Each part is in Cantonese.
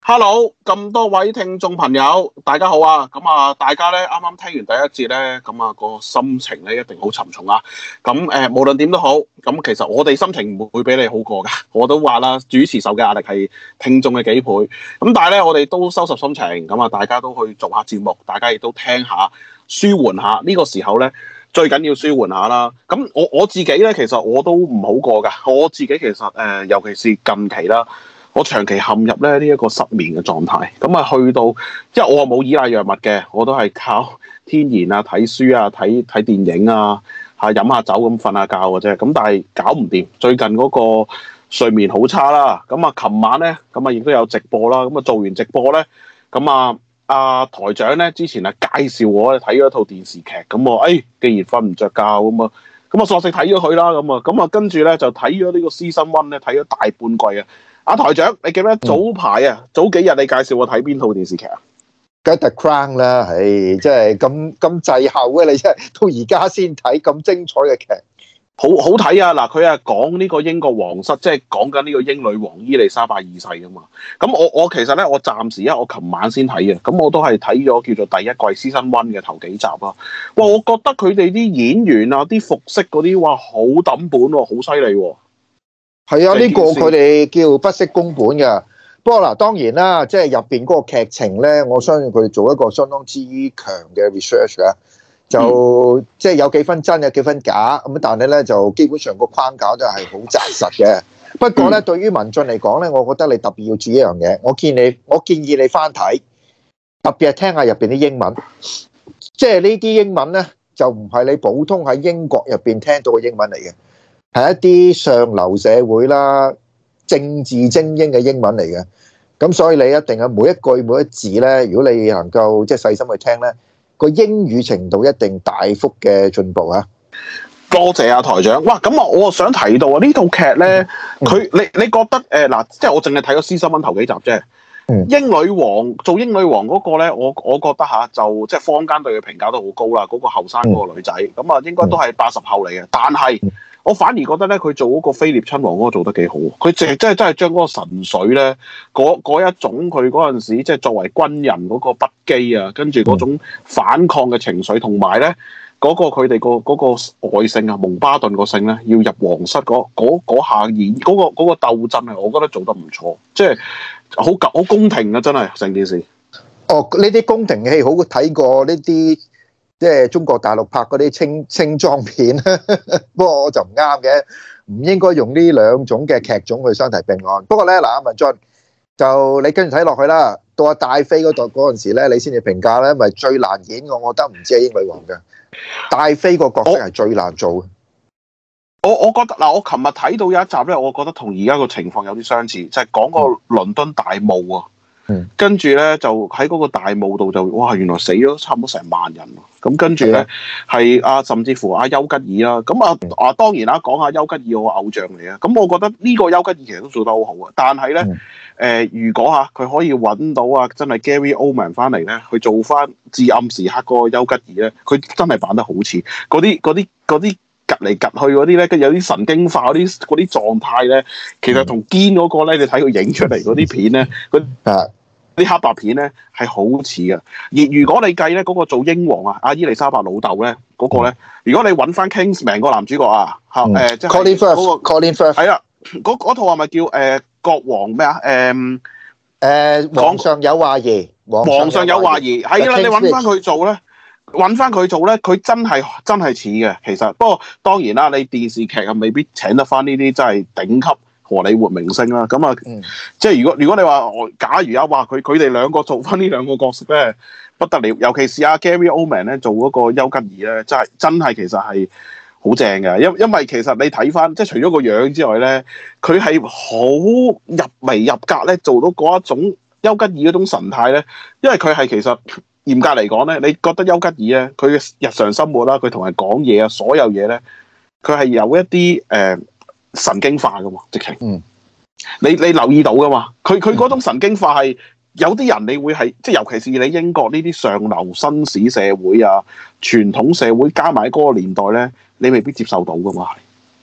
Hello，咁多位聽眾朋友，大家好啊！大家咧啱啱聽完第一節咧，個心情咧一定好沉重啊！無論點都好，其實我哋心情唔會比你好過噶。我都話啦，主持受嘅壓力係聽眾嘅幾倍。但係咧，我哋都收拾心情，大家都去做下節目，大家亦都聽下，舒緩下。呢個時候咧，最緊要舒緩下啦。我自己咧，其實我都唔好過噶。我自己其實尤其是近期啦。我長期陷入咧呢一個失眠嘅狀態，去到，因為我冇依賴藥物嘅，我都係靠天然啊、睇書啊、睇電影啊、飲下酒咁瞓下覺嘅啫。但係搞唔掂，最近嗰個睡眠好差啦。琴晚咧，亦都有直播啦。做完直播咧，台長咧之前介紹我睇咗一套電視劇，既然瞓唔着覺我索性睇咗佢啦。跟住咧就睇咗呢個 Season 1咧，睇咗大半季啊！台長，你記唔記得早排早幾日你介紹我睇邊套電視劇啊？ 梗係 The Crown 啦，即係咁滯後嘅，你真係到而家先睇咁精彩嘅劇， 好好睇啊！嗱，佢講呢個英國皇室，即係講緊呢個英女王伊麗莎白二世噶嘛。我其實咧，我暫時我琴晚先睇嘅，我都係睇咗叫做第一季 Season 1嘅頭幾集啦。哇，我覺得佢哋啲演員啊，啲服飾嗰啲，哇，好抌本喎，好犀利喎。 係啊，呢個佢哋叫不惜工本嘅。不過嗱，當然啦，即係入邊嗰個劇情咧，我相信佢哋做一個相當之強嘅 research 嘅，就即係有幾分真，有幾分假咁。但係咧，就基本上個框架都係好紮實嘅。不過咧，對於民眾嚟講咧，我覺得你特別要注意一樣嘢。我建議你翻睇，特別係聽下入邊啲英文。即係呢啲英文咧，就唔係你普通喺英國入邊聽到嘅英文嚟嘅。係一啲上流社會啦、政治精英嘅英文嚟嘅，咁所以你一定係每一句每一字咧，如果你能夠即係細心去聽咧，個英語程度一定大幅嘅進步啊！ 多謝台長。哇，我想提到呢套劇咧，你覺得嗱，即係我淨係睇咗 Season 1頭幾集啫。英女王做英女王嗰個咧，我覺得就即係坊間對佢評價都好高啦。嗰個後生嗰個女仔，應該都係80後嚟嘅，但係我反而覺得咧，佢做嗰個菲臘親王嗰個做得幾好。佢真係將嗰個神水咧，嗰一種佢嗰陣時即係作為軍人嗰個不羈啊，跟住嗰種反抗嘅情緒，同埋咧嗰個佢哋嗰個外姓啊，蒙巴頓個姓咧，要入皇室嗰下演嗰個鬥爭啊，我覺得做得唔錯，即係好宮廷啊，真係成件事。 哦，呢啲宮廷戲好睇過呢啲。即係中國大陸拍嗰啲清裝片，不過我就唔啱嘅，唔應該用呢兩種嘅劇種去相提並論。不過咧，嗱，阿文進就你跟住睇落去啦，到阿戴妃嗰度嗰陣時咧，你先至評價咧，咪最難演，我覺得唔止係英女王嘅，戴妃個角色係最難做嘅。 我覺得嗱，我琴日睇到有一集咧，我覺得同而家個情況有啲相似，就係講個倫敦大霧啊。跟住咧就喺嗰個大霧度就哇，原來死咗差唔多成萬人喎。咁跟住咧係甚至乎丘吉爾啦。咁當然啦，講下丘吉爾我偶像嚟啊。咁我覺得呢個丘吉爾其實都做得好好啊。但係咧如果佢可以揾到真係 Gary Oldman 翻嚟咧，去做翻至暗時刻嗰個丘吉爾咧，佢真係扮得好似嗰啲趌嚟趌去嗰啲咧，跟住有啲神經化嗰啲狀態咧，其實同堅嗰個咧，你睇佢影出嚟嗰啲片咧，啲黑白片咧係好似嘅。而如果你計咧嗰個做英皇阿伊麗莎白老豆咧嗰個咧，如果你揾翻 Kingsman 個男主角即係 Colin Firth，Colin Firth 係啦，嗰套係咪叫國王咩啊？ 皇上有話兒， 皇上有話兒係啦，你揾翻佢做咧。佢真係似嘅，其實不過當然啦，你電視劇未必請得翻呢啲真係頂級荷里活明星啦。即係如果你話假如話佢哋兩個做翻呢兩個角色咧，不得了。尤其是Gary Oldman 咧做嗰個丘吉爾咧，真係其實係好正嘅。因為其實你睇翻即係除咗個樣之外咧，佢係好入微入格咧，做到嗰一種丘吉爾嗰種神態咧。因為佢係其實。嚴格嚟講咧，你覺得丘吉爾咧，佢嘅日常生活啦，佢同人講嘢啊，所有嘢咧，佢係有一啲神經化噶嘛，直情。你留意到噶嘛？佢嗰種神經化係有啲人你會係即係，尤其是你英國呢啲上流紳士社會啊、傳統社會加埋嗰個年代咧，你未必接受到噶嘛係。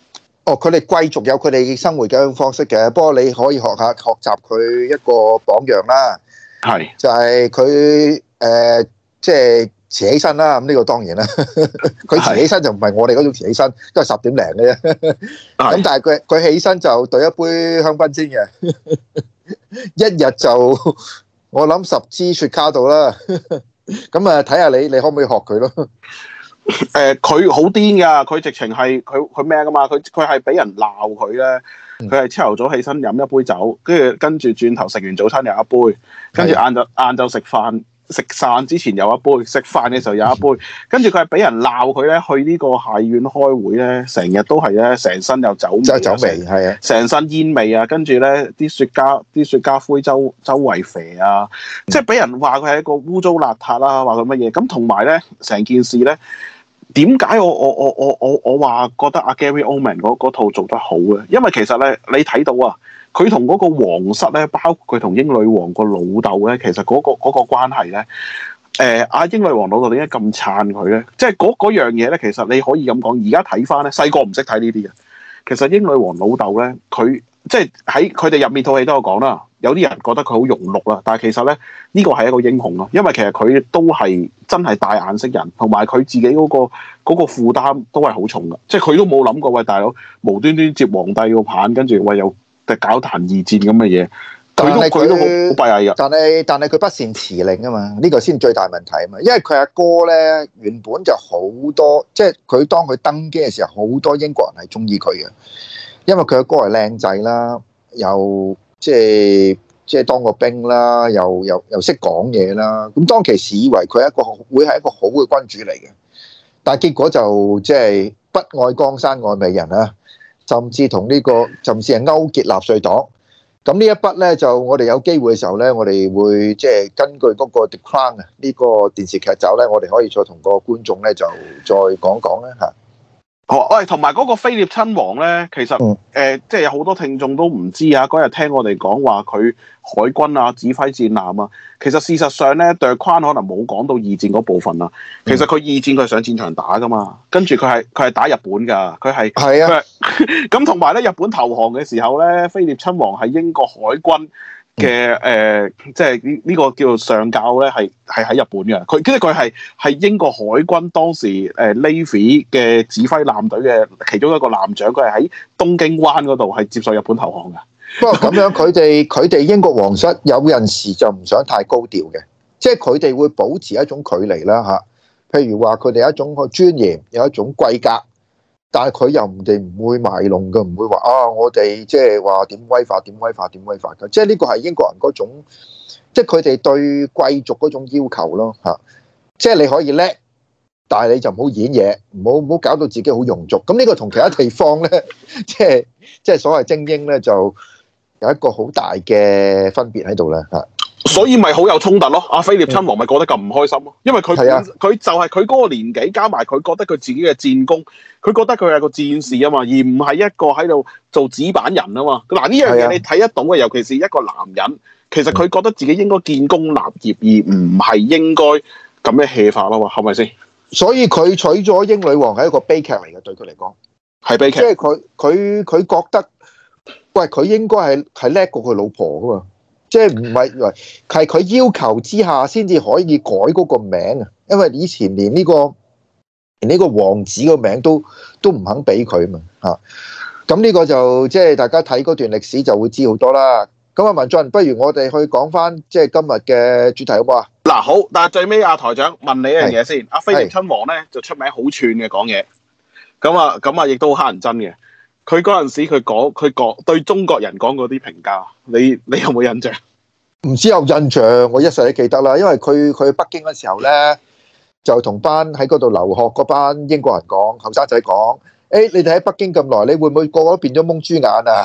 哦，佢哋貴族有佢哋生活嘅一種方式嘅，不過你可以學習佢一個榜樣啦。 係就係佢即係遲起身啦。咁呢個當然啦，佢遲起身就唔係我哋嗰種遲起身，都係10點零嘅啫。咁但係佢起身就兌一杯香檳先嘅，一日就我諗10支雪茄度啦。咁啊，睇下你可唔可以學佢咯？ 佢好癲㗎，佢直情係佢咩㗎嘛？佢係俾人鬧佢咧，佢係朝頭早起身飲一杯酒，跟住轉頭食完早餐又一杯，跟住晏晝食飯之前有一杯，食飯嘅時候有一杯，跟住佢係俾人鬧佢咧，去呢個下院開會咧，成日都係咧，成身有酒味， 係啊， 成身煙味啊，跟住咧啲雪茄灰周圍肥啊，即係俾人話佢係一個污糟邋遢啦，話佢乜嘢咁，同埋咧成件事咧。點解我話覺得阿 Gary Oldman 嗰套做得好咧？因為其實咧，你睇到啊，佢同嗰個皇室咧，包括佢同英女王個老豆咧，其實嗰個關係咧，阿英女王老豆點解咁撐佢咧？即係嗰樣嘢咧，其實你可以咁講。而家睇翻咧，細個唔識睇呢啲嘅。其實英女王老豆咧，佢即係喺佢哋入面套戲都有講啦。有啲人覺得佢好庸碌啦，但係其實咧呢個係一個英雄咯，因為其實佢都係真係大眼識人，同埋佢自己嗰個負擔都係好重噶，即係佢都冇諗過喂大佬無端端接皇帝個棒，跟住喂又搞壇二戰咁嘅嘢，佢都好閉翳噶。 但係佢不善辭令啊嘛，呢個先最大問題啊嘛，因為佢阿哥咧原本就好多，即係佢當佢登基嘅時候，好多英國人係中意佢嘅，因為佢阿哥係靚仔啦，又即係當過兵啦，又識講嘢啦。咁當其時以為佢會係一個好嘅君主嚟嘅，但係結果就即係不愛江山愛美人啦，甚至係勾結納粹黨。咁呢一筆咧，就我哋有機會嘅時候咧，我哋會即係根據嗰個 The Crown 啊呢個電視劇集咧，我哋可以再同個觀眾咧就再講講咧嚇。 喂，同埋嗰個菲臘親王咧，其實即係有好多聽眾都唔知啊。嗰日聽我哋講話佢海軍啊指揮戰艦啊，其實事實上咧，The Crown可能冇講到二戰嗰部分啊。其實佢二戰佢係上戰場打噶嘛，跟住佢係打日本㗎，佢係咁同埋咧，日本投降嘅時候咧，菲臘親王係英國海軍嘅即係呢個叫做上校咧，係喺日本嘅。佢係英國海軍當時Navy 嘅指揮艦隊嘅其中一個艦長，佢係喺東京灣嗰度係接受日本投降嘅。 不過咁樣佢哋英國皇室有陣時就唔想太高調嘅，即係佢哋會保持一種距離啦嚇。譬如話佢哋有一種個尊嚴，有一種貴格。但係佢唔會賣弄嘅，唔會話我哋即係話點威化嘅，即係呢個係英國人嗰種，即係佢哋對貴族嗰種要求咯嚇。即係你可以叻，但係你就唔好演嘢，唔好搞到自己好庸俗。咁呢個同其他地方咧，即係所謂精英咧，就有一個好大嘅分別喺度咧嚇。 所以咪好有衝突咯，阿菲臘親王咪覺得咁唔開心咯，因為佢就係佢嗰個年紀，加埋佢覺得佢自己嘅戰功，佢覺得佢係個戰士啊嘛，而唔係一個喺度做紙板人啊嘛。嗱呢樣嘢你睇得到嘅，尤其是一個男人，其實佢覺得自己應該建功立業，而唔係應該咁樣 hea 法咯，係咪先？所以佢娶咗英女王係一個悲劇嚟嘅，對佢嚟講係悲劇。 即係佢覺得，喂，佢應該係叻過佢老婆噶嘛。即係唔係佢要求之下先至可以改嗰個名啊，因為以前連呢個王子個名都唔肯俾佢嘛嚇。咁呢個就即係大家睇嗰段歷史就會知好多啦。咁啊，文進，不如我哋去講翻即係今日嘅主題好唔好啊？ 嗱好，但係最尾阿台長問你一樣嘢先。阿菲臘親王咧就出名好串嘅講嘢，咁啊亦都好乞人憎嘅。佢嗰陣時佢講對中國人講嗰啲評價，你有冇印象？ 唔知有印象，我一世都記得啦。因為佢去北京嘅時候咧，就同班喺嗰度留學嗰班英國人講，後生仔講：你哋喺北京咁耐，你會唔會個個都變咗蒙豬眼啊？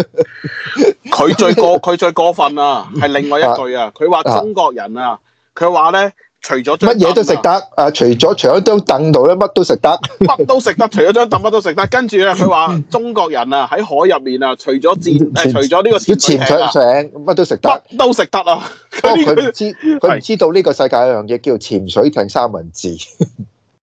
佢最過分啊，係另外一句啊，佢話中國人啊，佢話咧。除咗乜嘢都食得啊！除咗張凳度咧，乜都食得， 乜都食得。除咗張凳，乜都食得。跟住咧，佢話中國人啊喺海入面啊，除咗除咗呢個潛水艇，乜都食得， 乜都食得啊！ 佢唔知道呢個世界有樣嘢叫潛水艇三文治。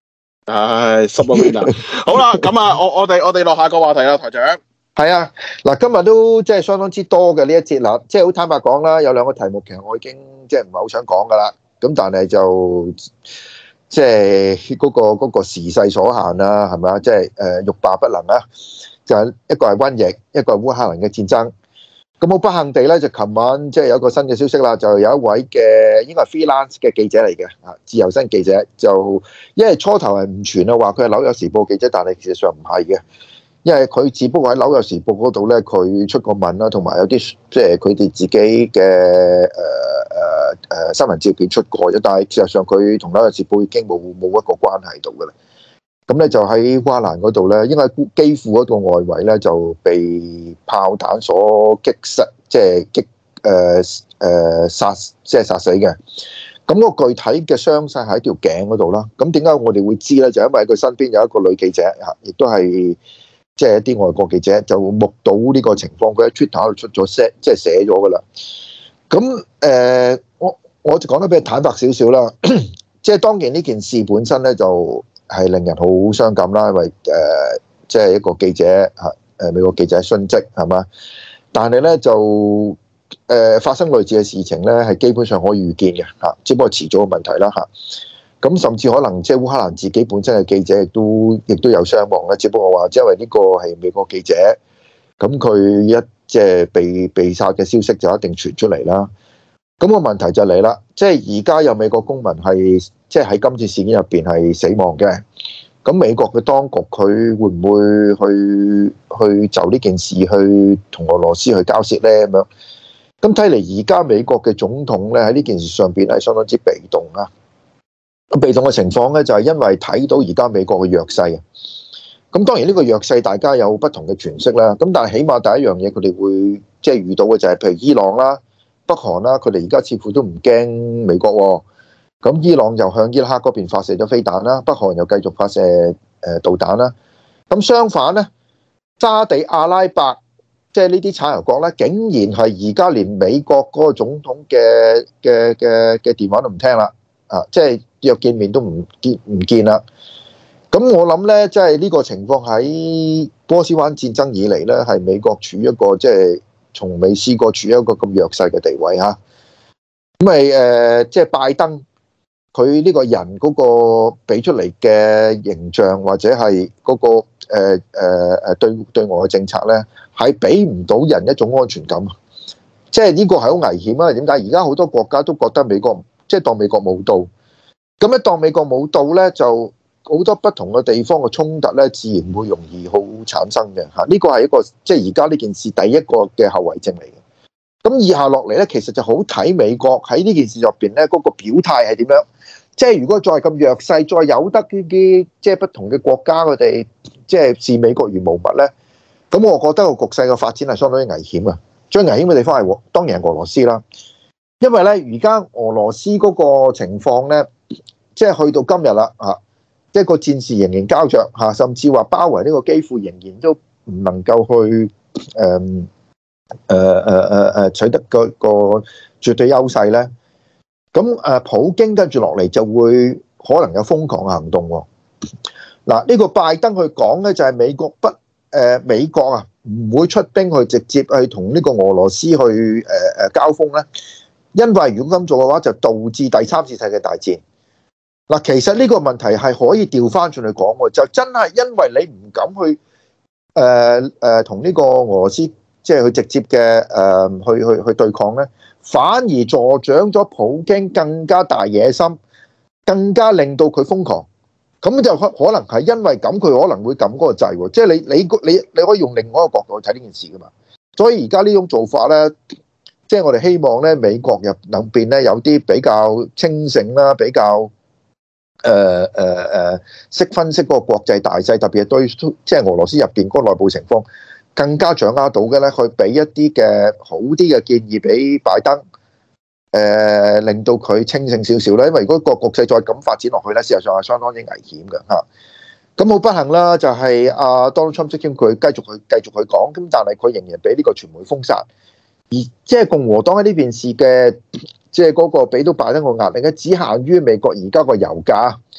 唉，濕咗面啊！好啦，咁啊，我哋落下個話題啦，台長。 係啊，嗱，今日都即係相當之多嘅呢一節啦，即係好坦白講啦，有兩個題目其實我已經即係唔係好想講噶啦，咁但係就即係嗰個時勢所限啦，係咪啊？即係欲罷不能啦，就係一個係瘟疫，一個係烏克蘭嘅戰爭。咁好不幸地咧，就琴晚即係有一個新嘅消息啦，就有一位嘅應該係 freelance 嘅記者嚟嘅啊，自由身記者，就因為初頭係唔傳啊，話佢係紐約時報記者，但係事實上唔係嘅。因為佢只不過喺紐約時報嗰度咧，佢出過文啦，同埋有啲即係佢哋自己嘅新聞照片出過啫。但係事實上佢同紐約時報已經冇一個關係度㗎啦。咁咧就喺烏克蘭嗰度咧，應該喺基輔嗰個外圍咧就被炮彈所擊殺，即係殺死嘅。咁個具體嘅傷勢喺條頸嗰度啦。咁點解我哋會知咧？就因為佢身邊有一個女記者嚇，亦都係。即係一啲外國記者就目睹呢個情況，佢喺 Twitter 度出咗聲，即係寫咗噶啦。咁我就講得比較坦白少少啦。即係當然呢件事本身咧就係令人好傷感啦，因為即係一個記者嚇美國記者殉職係嘛。但係咧就發生類似嘅事情咧係基本上可以預見嘅嚇，只不過遲早嘅問題啦嚇。咁甚至可能即係烏克蘭自己本身嘅記者亦都有傷亡啦，只不過話因為呢個係美國記者，咁佢一即係被殺嘅消息就一定傳出嚟啦。咁個問題就嚟啦，即係而家有美國公民係即係喺今次事件入邊係死亡嘅，咁美國嘅當局佢會唔會去就呢件事去同俄羅斯去交涉咧？咁樣咁睇嚟而家美國嘅總統咧喺呢件事上邊係相當之被動啊！咁被動嘅情況咧，就係因為睇到而家美國嘅弱勢啊。咁當然呢個弱勢大家有不同嘅詮釋啦。咁但係起碼第一樣嘢，佢哋會即係遇到嘅就係譬如伊朗啦、北韓啦，佢哋而家似乎都唔驚美國喎。咁伊朗又向伊拉克嗰邊發射咗飛彈啦，北韓又繼續發射導彈啦。咁相反咧，沙地阿拉伯即係呢啲產油國咧，竟然係而家連美國嗰個總統嘅電話都唔聽啦。啊，即係約見面都唔見啦。咁我諗咧，即係呢個情況喺波斯灣戰爭以嚟咧，係美國處於一個即係從未試過處於一個咁弱勢嘅地位嚇。咁咪即係拜登佢呢個人嗰個俾出嚟嘅形象，或者係嗰個對外嘅政策咧，係俾唔到人一種安全感。即係呢個係好危險啊！點解？而家好多國家都覺得美國即係當美國冇到，咁一當美國冇到咧，就好多不同嘅地方嘅衝突咧，自然會容易好產生嘅嚇。呢個係一個即係而家呢件事第一個嘅後遺症嚟嘅。咁以下落嚟咧，其實就好睇美國喺呢件事入邊咧嗰個表態係點樣。即係如果再咁弱勢，再有得呢啲即係不同嘅國家佢哋即係視美國如無物咧，咁我覺得個局勢嘅發展係相當之危險啊！最危險嘅地方係當然係俄羅斯啦，因為咧而家俄羅斯嗰個情況咧，即係去到今日啦嚇，即係個戰事仍然膠着嚇，甚至話包圍呢個基輔仍然都唔能夠去取得個絕對優勢咧。咁普京跟住落嚟就會可能有瘋狂嘅行動喎。嗱，呢個拜登去講咧就係美國啊唔會出兵去直接去同呢個俄羅斯去交鋒咧，因為如果咁做嘅話就導致第三次世界大戰。嗱，其實呢個問題係可以調翻轉去講喎，就真係因為你唔敢去同呢個俄羅斯即係去直接嘅去對抗咧，反而助長咗普京更加大野心，更加令到佢瘋狂。咁就可能係因為咁，佢可能會撳嗰個掣喎。即係你可以用另外一個角度去睇呢件事噶嘛。所以而家呢種做法咧，即係我哋希望咧，美國入邊咧有啲比較清醒啦，比較識分析嗰個國際大勢，特別係對即係俄羅斯入邊嗰個內部情況更加掌握到嘅咧，去俾一啲嘅好啲嘅建議俾拜登。令到佢清醒少少啦，因為如果個局勢再咁發展落去咧，事實上係相當之危險嘅嚇。咁好不幸啦，就係阿 Donald Trump 佢繼續去講，咁但係佢仍然俾呢個傳媒封殺，而即係共和黨喺呢件事嘅即係嗰個俾到拜登個壓力咧，只限於美國而家個油價，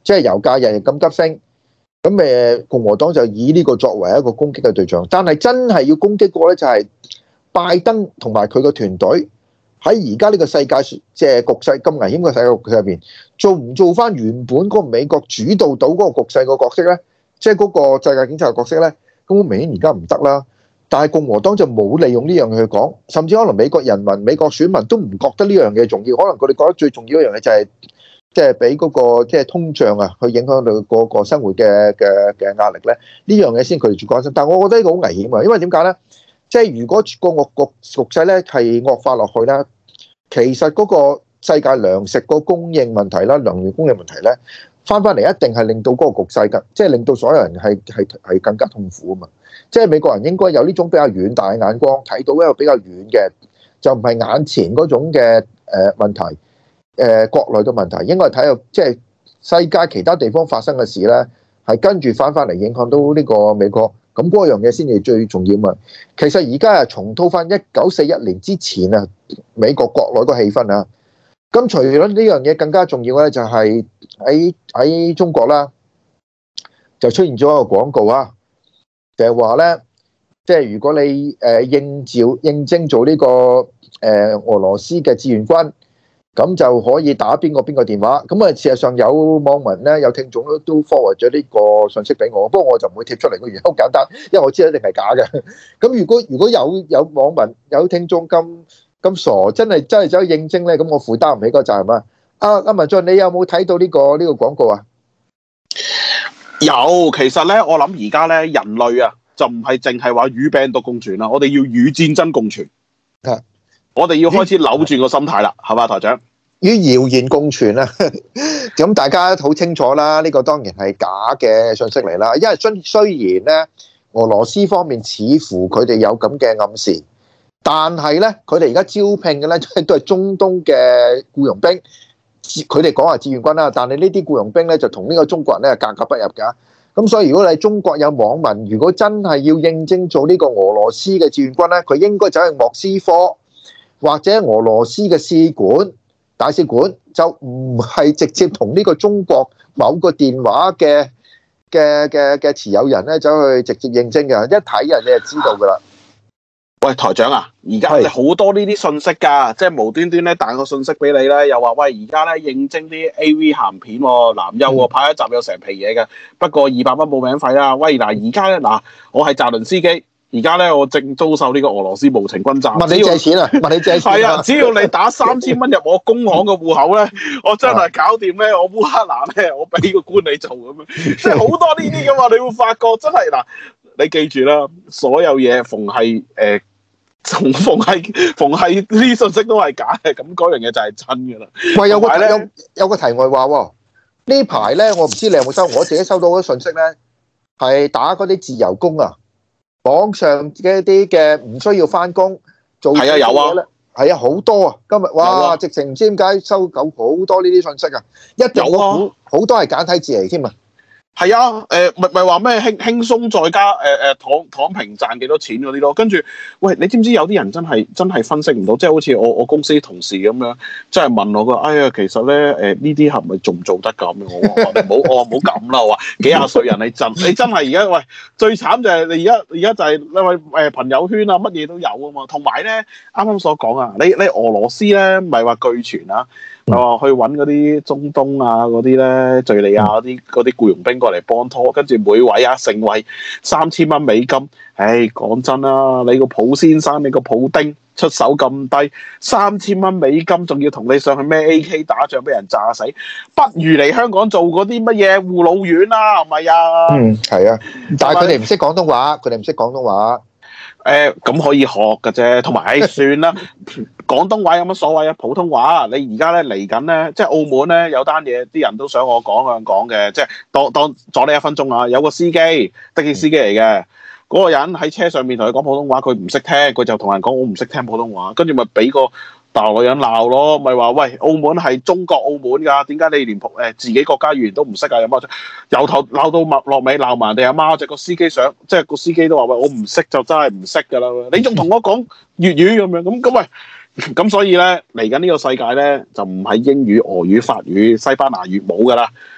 即係油價日日咁急升，咁共和黨就以呢個作為一個攻擊嘅對象。但係真係要攻擊過咧，就係拜登同埋佢個團隊喺而家呢個世界即係局勢咁危險嘅世界局勢入邊，做唔做翻原本嗰個美國主導到嗰個局勢個角色咧？即係嗰個世界警察嘅角色咧？咁明顯而家唔得啦。但係共和黨就冇利用呢樣嘢去講，甚至可能美國人民、美國選民都唔覺得呢樣嘢重要，可能佢哋覺得最重要一樣嘢就係即係俾嗰個即係通脹啊，去影響到嗰個生活嘅壓力咧。呢樣嘢先佢哋最關心。但係我覺得呢個好危險啊，因為點解咧？即係如果個局勢咧係惡化落去咧，其實嗰個世界糧食個供應問題啦、能源供應問題咧，翻嚟一定係令到嗰個局勢即係令到所有人係更加痛苦啊嘛。即係美國人應該有呢種比較遠大嘅眼光，睇到一個比較遠嘅，就唔係眼前嗰種嘅問題，國內嘅問題，應該係睇到即係世界其他地方發生嘅事咧，係跟住翻嚟影響到呢個美國，咁嗰樣嘢先至最重要嘛。其實而家係重蹈翻1941年之前啊，美國國內個氣氛啊。咁除咗呢樣嘢，更加重要咧就係喺中國啦，就出現咗一個廣告啊。就係話咧，即係如果你應徵做呢個俄羅斯嘅志願軍，咁就可以打邊個電話。咁啊，事實上有網民咧，有聽眾都 forward 咗呢個信息俾我，不過我就唔會貼出嚟，個原因好簡單，因為我知道一定係假嘅。咁如果有網民有聽眾咁傻，真係走去應徵咧，咁我負擔唔起個責任啊！阿文進，你有冇睇到呢個廣告啊？ 有，其實咧，我諗而家咧，人類啊，就唔係淨係話與病毒共存啦，我哋要與戰爭共存。 係， 我哋要開始扭轉個心態啦，係嘛，台長？ 與謠言共存啦，咁大家好清楚啦，呢個當然係假嘅信息嚟啦。因為雖然咧，俄羅斯方面似乎佢哋有咁嘅暗示，但係咧，佢哋而家招聘嘅咧都係中東嘅僱傭兵。佢哋講話志願軍啦，但係呢啲僱傭兵咧就同呢個中國人咧格格不入㗎。咁所以如果你中國有網民，如果真係要應徵做呢個俄羅斯嘅志願軍咧，佢應該走去莫斯科或者俄羅斯嘅使館、大使館，就唔係直接同呢個中國某個電話嘅持有人咧走去直接應徵嘅。一睇人你就知道㗎啦。 喂，台長啊，而家好多呢啲信息㗎，即係無端端咧彈個信息俾你咧，又話喂，而家咧應徵啲 AV 鹹片喎，男優喎，拍一集有成皮嘢嘅，不過200蚊報名費啦。喂，嗱而家咧嗱，我係澤倫斯基，而家咧我正遭受呢個俄羅斯無情轟炸。問你借錢啊？問你借錢係啊，只要你打3000蚊入我工行嘅戶口咧，我真係搞掂咧，我烏克蘭咧，我俾個官你做咁樣，即係好多呢啲㗎嘛，你會發覺真係嗱。你記住啦，所有嘢逢係呢啲信息都係假嘅，咁嗰樣嘢就係真嘅啦。 喂，有個題外話喎，呢排咧我唔知你有冇收，我自己收到嗰啲信息咧，係打嗰啲自由工啊，網上嘅一啲嘅唔需要翻工做嘢咧，係啊好多啊，今日哇直情唔知點解收到好多呢啲信息啊，一定好多係簡體字嚟添啊！ 係啊，咪話咩輕鬆再加躺平賺幾多錢嗰啲咯，跟住喂，你知唔知有啲人真係分析唔到，即係好似我公司同事咁樣，真係問我個，哎呀，其實咧呢啲係咪做唔做得咁？我話你唔好咁啦，我話幾廿歲人你真係而家喂最慘就係你而家就係因為朋友圈啊乜嘢都有啊嘛，同埋咧啱啱所講啊，你俄羅斯咧咪話據傳啊。去揾嗰啲中東啊嗰啲咧敍利亞嗰啲僱傭兵過嚟幫拖，跟住每位啊成為3000蚊美金。唉，講真啦，你個普先生，你個普丁出手咁低，3000蚊美金，仲要同你上去咩 AK 打仗，俾人炸死，不如嚟香港做嗰啲乜嘢護老院啦，係咪啊？ 係啊，但係佢哋唔識廣東話， 咁可以學㗎啫，同埋算啦。廣東話有乜所謂啊？普通話，你而家咧嚟緊咧，即係澳門咧有單嘢，啲人都想我講嘅，即係當阻你1分鐘啊！有個司機，的士司機嚟嘅，嗰個人喺車上面同佢講普通話，佢唔識聽，佢就同人講我唔識聽普通話，跟住咪俾個大陸人鬧咯，咪話喂，澳門係中國澳門㗎，點解你連自己國家語言都唔識啊？有乜由頭鬧到落尾鬧埋人哋阿媽，個司機想，即係個司機都話喂，我唔識就真係唔識㗎啦，你仲同我講粵語咁樣，咁喂。咁所以咧，嚟緊呢個世界咧，就唔係英語、俄語、法語、西班牙語冇噶啦。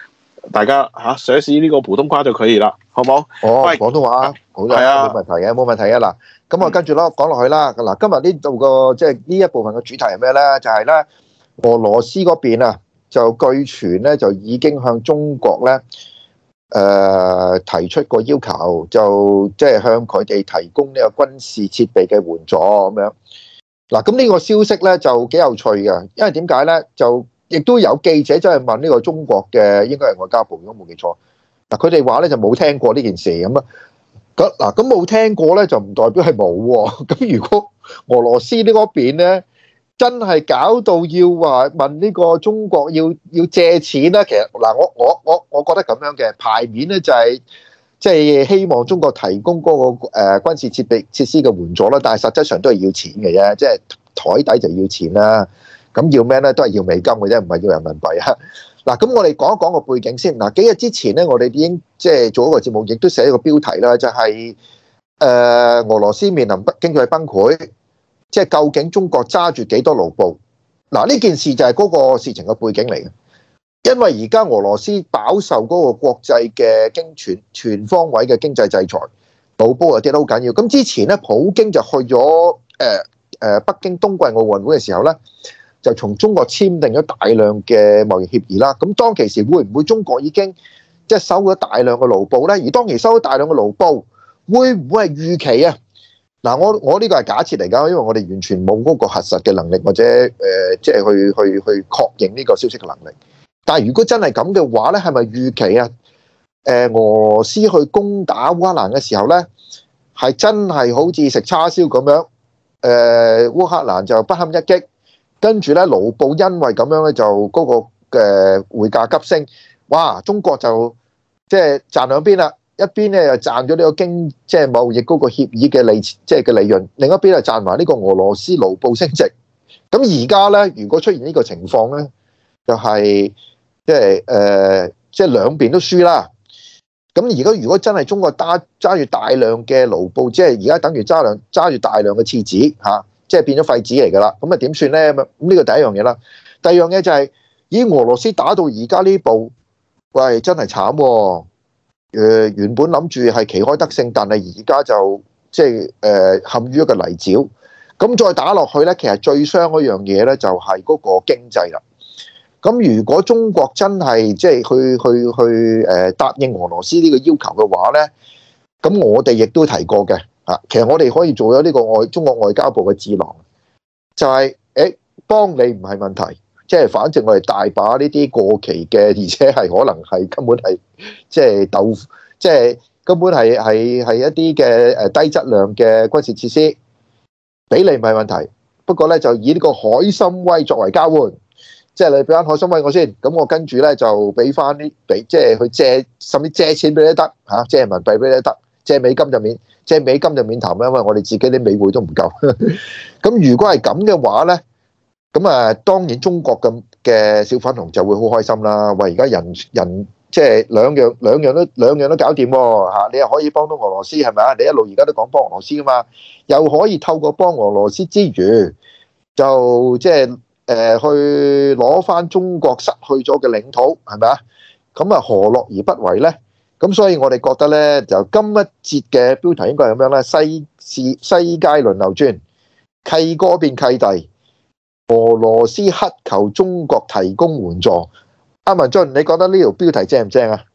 大家試一試呢個普通話就可以啦，好冇？ 哦， 喂廣東話好嘅， 係啊冇問題嘅，冇問題嘅。嗱，咁我跟住咯講落去啦。嗱，今日呢度個即係呢一部分嘅主題係咩咧？就係咧俄羅斯嗰邊啊，就據傳咧就已經向中國咧提出個要求，就即係向佢哋提供呢個軍事設備嘅援助咁樣。嗱，咁呢個消息咧就幾有趣嘅，因為點解咧？就亦都有記者真係問呢個中國嘅，應該係外交部，如果冇記錯。嗱，佢哋話咧就冇聽過呢件事咁啊。咁冇聽過咧，就唔代表係冇喎。咁如果俄羅斯呢嗰邊咧，真係搞到要話問呢個中國要借錢咧，其實嗱，我覺得咁樣嘅牌面咧就係即係希望中國提供嗰個軍事設施嘅援助啦，但係實質上都係要錢嘅啫，即係台底就要錢啦。咁要咩咧？都係要美金嘅啫，唔係要人民幣啊。嗱，咁我哋講一講個背景先。嗱，幾日之前咧，我哋已經即係做一個節目，亦都寫一個標題啦，就係俄羅斯面臨經濟崩潰，即係究竟中國揸住幾多盧布？嗱，呢件事就係嗰個事情嘅背景嚟嘅。因為而家俄羅斯飽受嗰個國際嘅全方位嘅經濟制裁，盧布又跌得好緊要。咁之前咧，普京就去咗北京冬季奧運會嘅時候咧，就從中國簽訂咗大量嘅貿易協議啦。咁當其時會唔會中國已經即係收咗大量嘅盧布咧？而當其收咗大量嘅盧布，會唔會係預期啊？嗱，我呢個係假設嚟㗎，因為我哋完全冇嗰個核實嘅能力，或者即係去確認呢個消息嘅能力。但係如果真係咁嘅話咧，係咪預期啊？俄羅斯去攻打烏克蘭嘅時候咧，係真係好似食叉燒咁樣？烏克蘭就不堪一擊，跟住咧盧布因為咁樣咧就嗰個嘅匯價急升，哇！中國就即係賺兩邊啦，一邊咧又賺咗呢個即係貿易嗰個協議嘅利潤，另一邊就賺埋呢個俄羅斯盧布升值。咁而家咧，如果出現呢個情況咧，就係即係兩邊都輸啦。咁而家如果真係中國揸住大量嘅盧布，即係而家等於揸住大量嘅廁紙嚇，即係變咗廢紙嚟㗎啦。咁啊點算咧？咁呢個第一樣嘢啦。第二樣嘢就係，咦，俄羅斯打到而家呢步，喂，真係慘喎。原本諗住係旗開得勝，但係而家就即係陷於一個泥沼。咁再打落去咧，其實最傷嗰樣嘢咧就係嗰個經濟啦。咁如果中國真係即係去答應俄羅斯呢個要求嘅話咧，咁我哋亦都提過嘅嚇，其實我哋可以做咗呢個中國外交部嘅智囊，就係幫你唔係問題，即係反正我哋大把呢啲過期嘅，而且係可能係根本係即係即係根本係一啲嘅低質量嘅軍事設施，俾你唔係問題。不過咧就以呢個海參崴作為交換。即係你俾翻海參崴我先，咁我跟住咧就俾翻啲即係去借，甚至借錢俾你得嚇，借人民幣俾你得，借美金就免談啦，因為我哋自己啲美匯都唔夠。咁如果係咁嘅話咧，咁啊當然中國嘅小粉紅就會好開心啦。喂，而家人即係兩樣都搞掂喎嚇，你又可以幫到俄羅斯係咪啊？你一路而家都講幫俄羅斯噶嘛，又可以透過幫俄羅斯之餘，就即係去攞翻中國失去咗嘅領土，係咪啊？咁啊，何樂而不為呢？咁所以我哋覺得呢，就今一節嘅標題應該係咁樣啦：世界輪流轉，契哥變契弟，俄羅斯乞求中國提供援助。阿文進，你覺得呢條標題正唔正啊？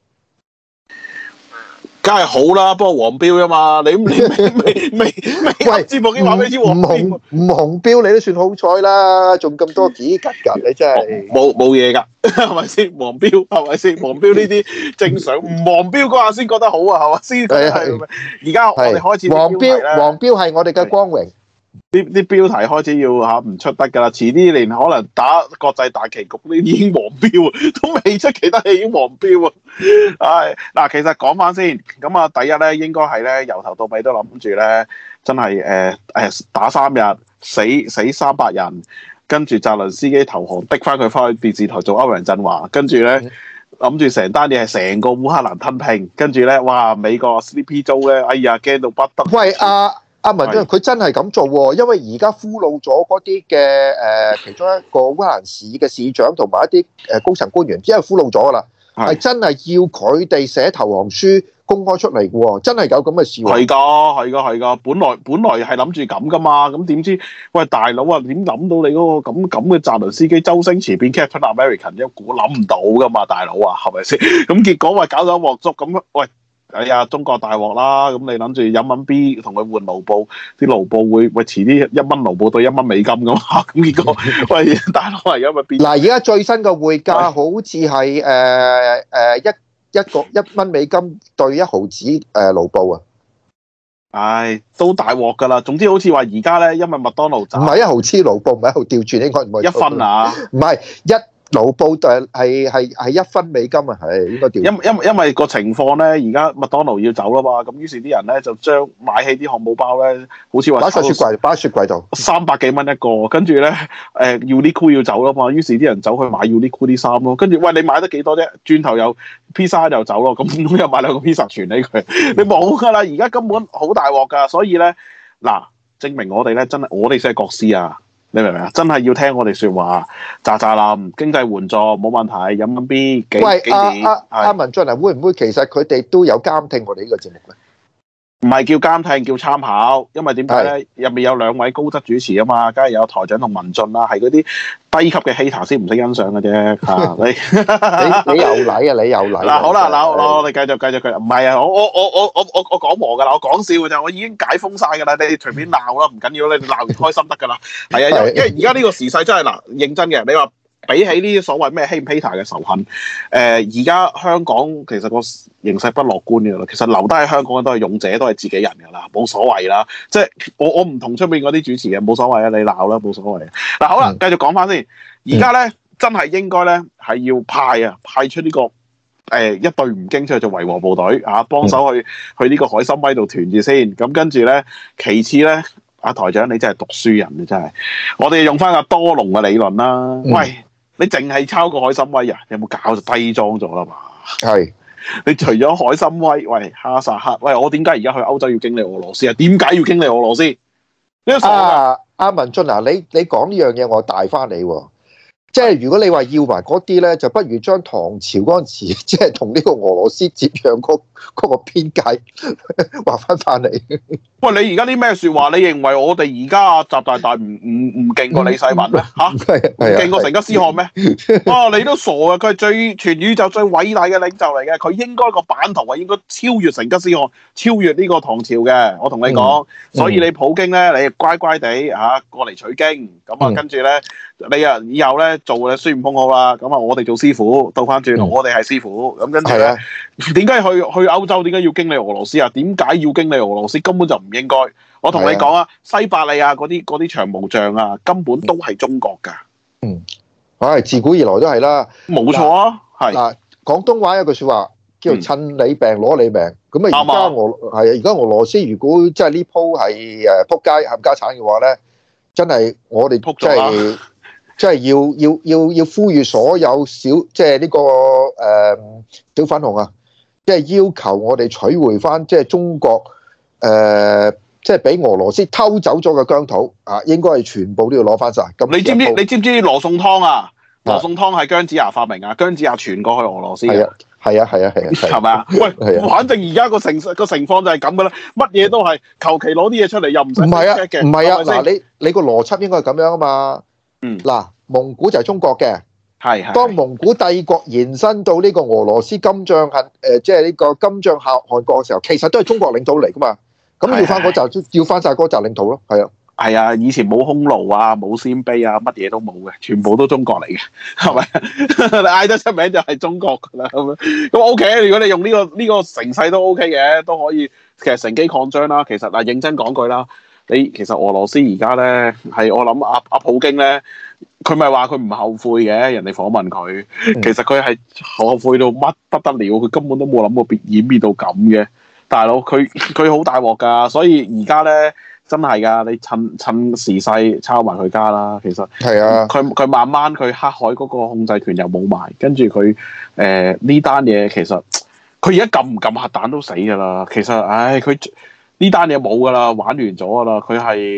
梗係好啦，不過黃標啊嘛，你未節目已經話俾你知黃標， 唔紅標你都算好彩啦，仲咁多幾吉㗎，你真係冇嘢㗎，係咪先？黃標係咪先？黃標呢啲正常，唔黃標嗰下先覺得好啊，係咪先？而家我哋開始黃標係我哋嘅光榮。 啲標題開始要唔出得㗎啦，遲啲連可能打國際大棋局呢已經黃標啊，都未出其他戲已經黃標啊！唉，嗱，其實講翻先，咁啊，第一咧應該係咧由頭到尾都諗住咧，真係打3日死300人，跟住澤倫斯基投降，逼翻佢翻去電視台做歐陽震華，跟住咧諗住成單嘢係成個烏克蘭吞併，跟住咧哇美國 Sleepy Joe 咧，哎呀驚到不得！ 喂阿文進，佢真係咁做喎，因為而家俘虜咗嗰啲嘅其中一個烏克蘭市嘅市長同埋一啲高層官員，因為俘虜咗噶啦。 係真係要佢哋寫投降書公開出嚟嘅喎，真係有咁嘅事喎。 係㗎，係㗎，係㗎。本來係諗住咁㗎嘛，咁點知喂大佬啊，點諗到你嗰個咁嘅澤倫斯基周星馳變 Captain American 啫？估諗唔到㗎嘛，大佬啊，係咪先？咁結果喂搞到一鑊粥咁，喂。哎呀，中國大鑊啦！咁你諗住飲蚊 B 同佢換盧布，啲盧布會遲啲1蚊盧布對1蚊美金噶嘛？咁結果喂大佬而家咪變嗱， 而家最新嘅匯價好似係1蚊美金對1毫子盧布啊！ 唉，都大鑊噶啦！總之好似話而家咧，因為麥當勞唔係1毫子盧布，唔係1毫調轉，應該唔係 1分啊！ 唔係盧布就係1分美金啊，係應該調。 因為個情況咧，而家麥當勞要走啦嘛，咁於是啲人咧就將買起啲漢堡包咧，好似話擺喺雪櫃度 300幾蚊一個，跟住咧Uniqlo 要走啦嘛，於是啲人走去買 Uniqlo 啲衫咯，跟住喂你買得幾多啫？轉頭又披薩又走咯，咁又買2個披薩傳起佢，你冇噶啦，而家根本好大鑊噶，所以咧嗱，證明我哋咧真係我哋先係國師啊！你明唔明啊？真係要聽我哋説話，喳喳冧經濟援助冇問題，飲緊 B 幾年？ 阿文進啊，會唔會其實佢哋都有監聽我哋呢個節目咧？ 唔係叫監聽，叫參考，因為點解咧？入面有2位高質主持啊嘛，梗係有台長同文進啦，係嗰啲低級嘅 hater 先唔識欣賞嘅啫嚇。 你有禮啊！你有禮嗱，好啦，嗱我哋繼續，唔係啊，我講和㗎啦，我講笑㗎咋，我已經解封晒㗎啦，你隨便鬧啦，唔緊要，你鬧完開心得㗎啦。係啊，因為而家呢個時勢真係嗱，認真嘅，你話。比起呢啲所謂咩 hate 唔 hater 嘅仇恨，而家香港其實個形勢不樂觀嘅啦。其實留低喺香港嘅都係勇者，都係自己人㗎啦，冇所謂啦。即係我唔同出面嗰啲主持嘅，冇所謂啊，你鬧啦，冇所謂。嗱好啦，繼續講翻先。而家咧真係應該咧係要派出呢個一隊吳京出去做維和部隊啊，幫手去呢個海參崴度團住先。咁跟住咧，其次咧，阿台長你真係讀書人啊，真係。我哋用翻阿多隆嘅理論啦，喂。你淨係抄個海參崴啊？有冇搞就低裝咗啦嘛？ 係你除咗海參崴，喂哈薩克，喂我點解而家去歐洲要經歷俄羅斯啊？點解要經歷俄羅斯？ 阿文進啊，你講呢樣嘢我帶翻你喎。即係如果你話要埋嗰啲咧，就不如將唐朝嗰陣時，即係同呢個俄羅斯接壤嗰個邊界劃翻嚟。 喂，你而家啲咩説話？你認為我哋而家習大大唔勁過李世民咩？嚇，唔勁過成吉思汗咩？啊，你都傻啊！佢係全宇宙最偉大嘅領袖嚟嘅，佢應該個版圖係應該超越成吉思汗，超越呢個唐朝嘅。我同你講，所以你普京咧，你乖乖地過嚟取經，咁啊跟住咧，你啊以後咧做嘅孫悟空好啦，咁啊我哋做師傅，倒翻轉，我哋係師傅，咁跟住咧，點解去歐洲？點解要經歷俄羅斯啊？點解要經歷俄羅斯？根本就唔應該。我同你講啊，西伯利亞嗰啲長毛象啊，根本都係中國㗎。 自古以來都係啦。 冇錯啊，係。 嗱，廣東話有句説話叫做趁你病攞你命。咁啊，而家俄羅斯如果真係呢鋪係撲街冚家產嘅話咧，真係我哋即係要呼籲所有即係呢個小粉紅啊，即係要求我哋取回翻即係中國即係俾俄羅斯偷走咗嘅疆土啊，應該係全部都要攞翻晒。咁你知唔知羅宋湯啊？羅宋湯係姜子牙發明啊，姜子牙傳過去俄羅斯嘅。係啊，係咪啊？喂，反正而家個情況就係咁噶啦，乜嘢都係求其攞啲嘢出嚟，又唔使 check 嘅。 唔係啊，嗱，你個邏輯應該係咁樣啊嘛。嗱，蒙古就係中國嘅。係。當蒙古帝國延伸到呢個俄羅斯金帳即係呢個金帳汗國嘅時候，其實都係中國領土嚟噶嘛。咁要翻嗰紮，要翻晒嗰紮領土咯。係啊，以前冇匈奴啊，冇鮮卑啊，乜嘢都冇嘅，全部都中國嚟嘅，係咪？你嗌得出名就係中國噶啦，咁 OK。如果你用呢個成勢都 OK 嘅，都可以其實乘機擴張啦。其實嗱，認真講句啦，其實俄羅斯而家咧係我諗阿普京咧，佢咪話佢唔後悔嘅，人哋訪問佢，其實佢係後悔到乜不得了，佢根本都冇諗過演變到咁嘅。大佬佢好大鑊㗎，所以而家咧真係㗎，你趁時勢抄埋佢家啦。其實係啊，佢慢慢佢黑海嗰個控制權又冇埋，跟住佢呢單嘢其實佢而家撳唔撳核彈都死㗎啦。其實佢呢單嘢冇㗎啦，玩完咗㗎啦。佢係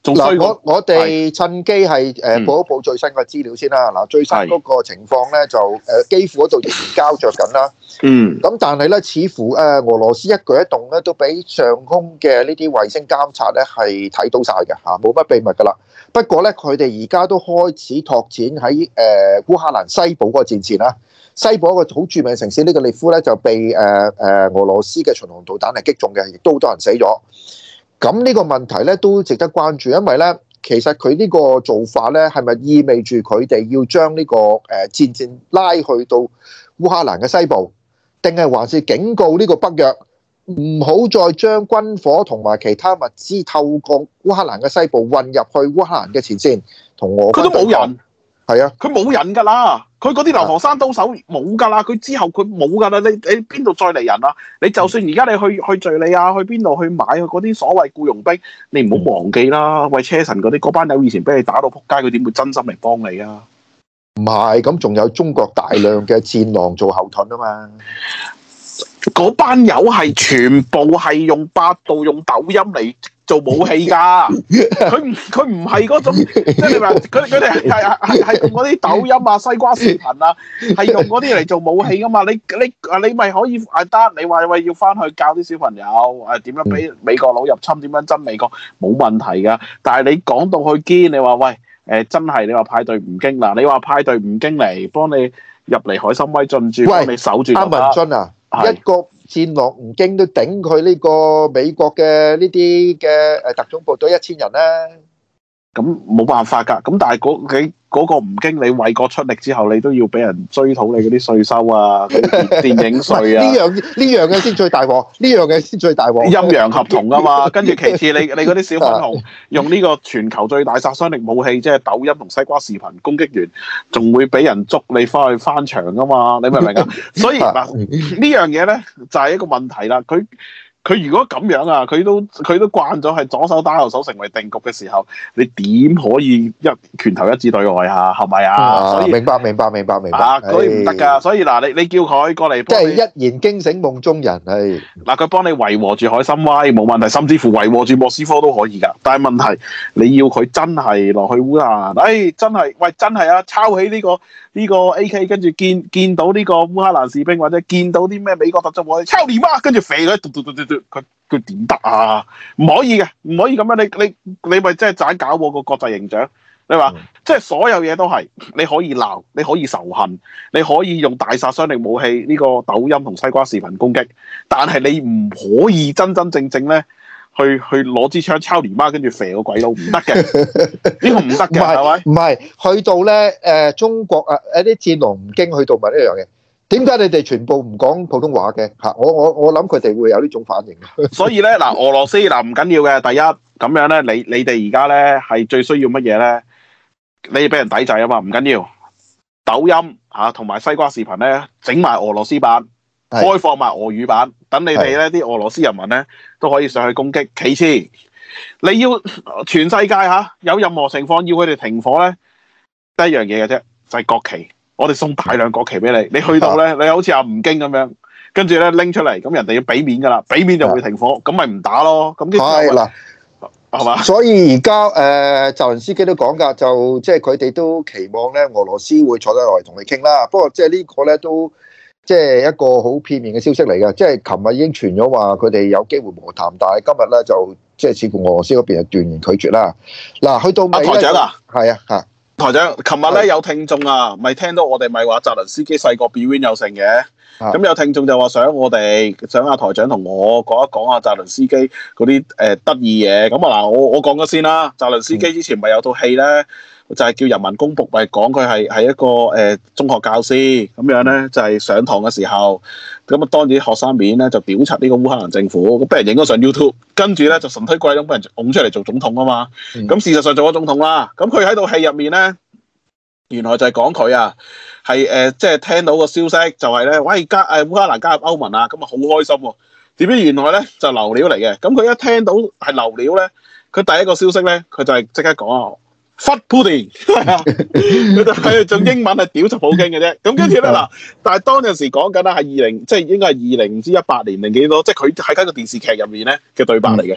仲衰過。 我哋趁機係報一報最新嘅資料先啦。嗱，最新嗰個情況咧就基輔嗰度仍然交着緊啦。咁但係咧，似乎俄羅斯一舉一動咧都俾上空嘅呢啲衛星監察咧係睇到晒嘅嚇，冇乜秘密噶啦。不過咧，佢哋而家都開始拓展喺烏克蘭西部嗰個戰線啦。西部一個好著名嘅城市呢個利夫咧就被俄羅斯嘅巡航導彈係擊中嘅，亦都好多人死咗。咁呢個問題咧都值得關注，因為咧其實佢呢個做法咧係咪意味住佢哋要將呢個戰線拉去到烏克蘭嘅西部，定係還是警告呢個北約唔好再將軍火同埋其他物資透過烏克蘭嘅西部運入去烏克蘭嘅前線，同俄軍對抗？佢都冇人，係啊，佢冇人㗎啦。佢嗰啲流亡山刀手冇㗎啦，佢之後佢冇㗎啦。你邊度再嚟人啊？你就算而家你去敍利亞，去邊度去買嗰啲所謂僱傭兵，你唔好忘記啦。喂，車臣嗰班友以前俾你打到撲街，佢點會真心嚟幫你啊？唔係，咁仲有中國大量嘅戰狼做後盾啊嘛。嗰班友係全部係用百度、用抖音嚟做武器㗎。佢唔係嗰種，即係你話佢哋係用嗰啲抖音啊、西瓜視頻啊，係用嗰啲嚟做武器㗎嘛。你咪可以得你話喂要翻去教啲小朋友點樣俾美國佬入侵，點樣憎美國冇問題㗎。但係你講到去堅，你話喂真係你話派隊吳京嗱，你話派隊吳京嚟幫你入嚟海參崴進駐，幫你守住。阿文俊啊！一個戰狼吳京都頂佢呢個美國嘅呢啲嘅特種部隊1000人啦，咁冇辦法㗎。咁但係嗰個吳京，你為國出力之後，你都要俾人追討你嗰啲稅收啊、電影稅啊。呢樣嘅先最大鑊，呢樣嘅先最大鑊。陰陽合同啊嘛，跟住其次你嗰啲小粉紅用呢個全球最大殺傷力武器，即係抖音同西瓜視頻攻擊完，仲會俾人捉你翻去翻牆㗎嘛？你明唔明啊？所以嗱，呢樣嘢咧就係一個問題啦。佢如果咁樣啊，佢都慣咗係左手打右手成為定局嘅時候，你點可以拳頭一致對外啊？係咪啊？所以明白。所以唔得㗎。所以嗱，你叫佢過嚟，即係一言驚醒夢中人係。嗱，佢幫你維和住海參崴冇問題，甚至乎維和住莫斯科都可以㗎。但係問題你要佢真係落去烏克蘭，真係啊，抄起呢個 AK， 跟住見到呢個烏克蘭士兵或者見到啲咩美國特種部隊，抄你媽，跟住肥佢，佢點得啊？唔可以嘅，唔可以咁樣。你咪即係盞搞我個國際形象。你話即係所有嘢都係你可以鬧，你可以仇恨，你可以用大殺傷力武器呢個抖音同西瓜視頻攻擊，但係你唔可以真真正正咧去攞支槍抄連媽，跟住射個鬼佬，唔得嘅。呢個唔得嘅，係咪？唔係去到咧中國一啲戰狼吳京去到咪呢樣嘢？點解你哋全部唔講普通話嘅？嚇，我諗佢哋會有呢種反應。所以咧嗱，俄羅斯嗱唔緊要嘅。第一咁樣咧，你哋而家咧係最需要乜嘢咧？你俾人抵制啊嘛，唔緊要。抖音同埋西瓜視頻咧，整埋俄羅斯版，開放埋俄語版，等你哋咧啲俄羅斯人民咧都可以上去攻擊。其次，你要全世界有任何情況要佢哋停火咧，得一樣嘢嘅啫，就係國旗。我哋送大量國旗俾你，你去到咧，你好似阿吳京咁樣，跟住咧拎出嚟，咁人哋要俾面噶啦，俾面就會停火，咁咪唔打咯。咁係嗱，係嘛？所以而家澤連斯基都講㗎，就即係佢哋都期望咧，俄羅斯會坐低落嚟同你傾啦。不過即係呢個咧都即係一個好片面嘅消息嚟嘅，即係琴日已經傳咗話佢哋有機會和談，但係今日咧就即係似乎俄羅斯嗰邊係斷然拒絕啦。嗱，去到尾台長啊，係啊嚇。台長，琴日咧有聽眾啊，咪聽到我哋咪話澤連斯基細個表演有成嘅，咁有聽眾就話想阿台長同我講一講阿澤連斯基嗰啲得意嘢。咁啊嗱，我講咗先啦。澤連斯基之前咪有套戲咧，就係叫《人民公僕》，咪講佢係一個中學教師咁樣咧，就係上堂嘅時候，咁啊當住啲學生面咧就屌柒呢個烏克蘭政府，咁俾人影咗上 YouTube， 跟住咧就神推鬼咁俾人拱出嚟做總統啊嘛。咁事實上做咗總統啦。咁佢喺套戲入面咧，原來就係講佢啊，係即係聽到個消息就係咧，喂烏克蘭加入歐盟啊，咁啊好開心喎。點知原來咧就流料嚟嘅。咁佢一聽到係流料咧，佢第一個消息咧，佢就係即刻講啊。Fuck Putin 係啊，佢就係用英文係屌柒普京嘅啫。咁跟住咧嗱，但係當陣時講緊啦，係即係應該係2018年定幾多？即係佢喺間個電視劇入面咧嘅對白嚟嘅。